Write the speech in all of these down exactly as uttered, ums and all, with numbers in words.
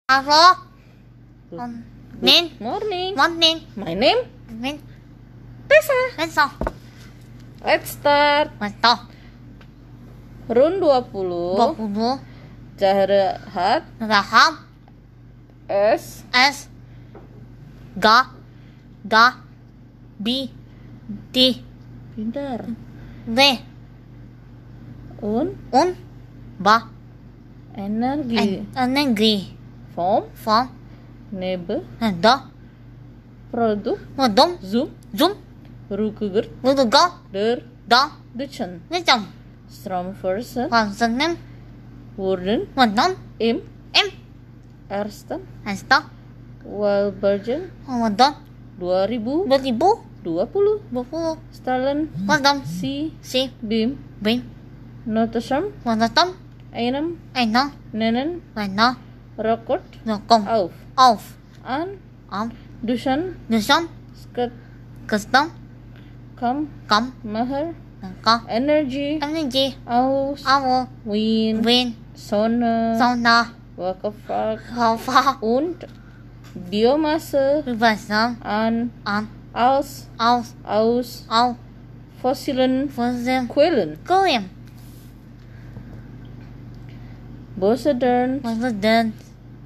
Hello. Um, Nin. Morning. Morning. My name Nin. Tessa. Besok. Let's start. Besok. Run dua puluh. Dua puluh. Jahrehat. Raham. S. S. Ga. Ga. B. D. Pintar. D. Un. Un. Ba. Energi. Energi. Form. Form. Nebe. Da. Produk. Modom. Zoom. Zoom. Rukuger. Luduga. Der. Da. Duchen. Nijam. Stromversen. Hoàng dân nem. Worden. Modom. Im. Em. Ersten. Hasta. Walbergen. Modom. dua ribu Dua ribu. dua puluh. Dua puluh. Stalen. Modom. Si. Si. Bim. Bim. Notesam. Modom. Einem. Eina. Nenen. Eina. Rekord. Dokong. Auf. Auf. An. Am. Dusan. Nusam. Sket. Custom. Kam. Kam. Maher. Nangka. Energy. Energy. Aus. Awo. Wind. Wind. Sonne. Sauna. Wakafak. Hava. Und. Biomasse. Berbasam. An. An. Aus. Aus. Aus. Au. Fossilen Fossil. Quellen. Korean. Bosedern. President.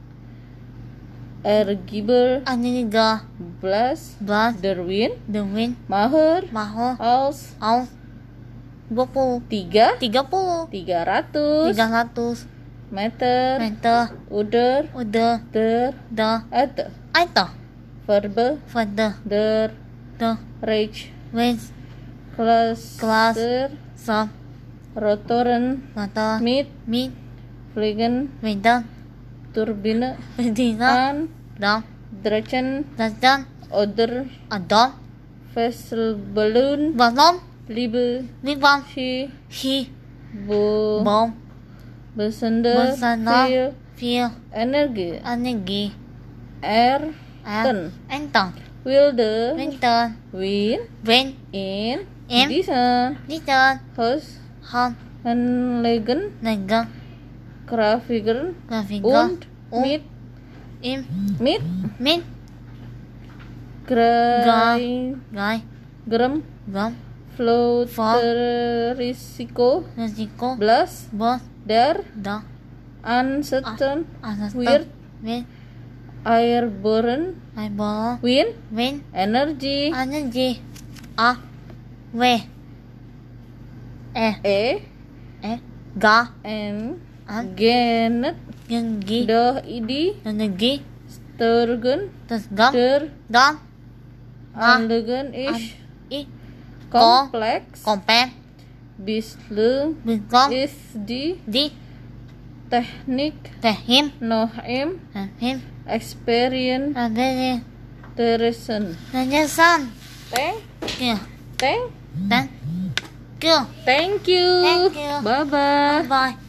Ergiber. Aniga. Blas. Blas. Derwin. The wind. Maher. Maho. Aus. Aus. Dua puluh. Tiga. Tiga puluh. Tiga ratus. Tiga ratus. Meter. Meter. Uder. Udah. Der. Da. Ete. Aita. Verbe. Fada. Der. Da. Reich. Wens. Kelas. Kelas. Der. Sam. Rotoren. Mata. Mit. Mit. Vliegen. Medan. Turbine. Medina. An. Da. Drechen. Dan. Oder. Adam. Vesselballoon. Balom. Liebe. Libam. Ski. Hi. Bo. Bom. Besende. Bersana. Viel. Feel. Energi. Energi. Er. Er. Ten. Entang. Wilde. Winter. Win. Wen. In. Em. Disen. Litan. Hus. Han. Henlegen. Nega. Grafiker. Grafiga. Und. Mit. Im. Mit. Min. Grai. Gai. Gram. Gam. Float. Fa. Risiko. Risiko. Blas. Bos. Der. Da. Uncertain. Asasta. Weird. Win. Airborne. Aibo. Wind. Win. Energy. Energi. A. We. E. E. E. Ga. N. An. Genet. Gengi. De. Idi. Energi. Sturgen. Terus gam. Der. Gam. A. Anlegen. Ish. I. Complex. Kompen. Bisle. Bingkom. Is di. Di. Teknik. Tehim. Nohem. Him. Experience. Adere. Teresen. Najasan. Thank. Kia. Thank. Dan. Kia. Thank you. Thank you. Bye bye. Bye.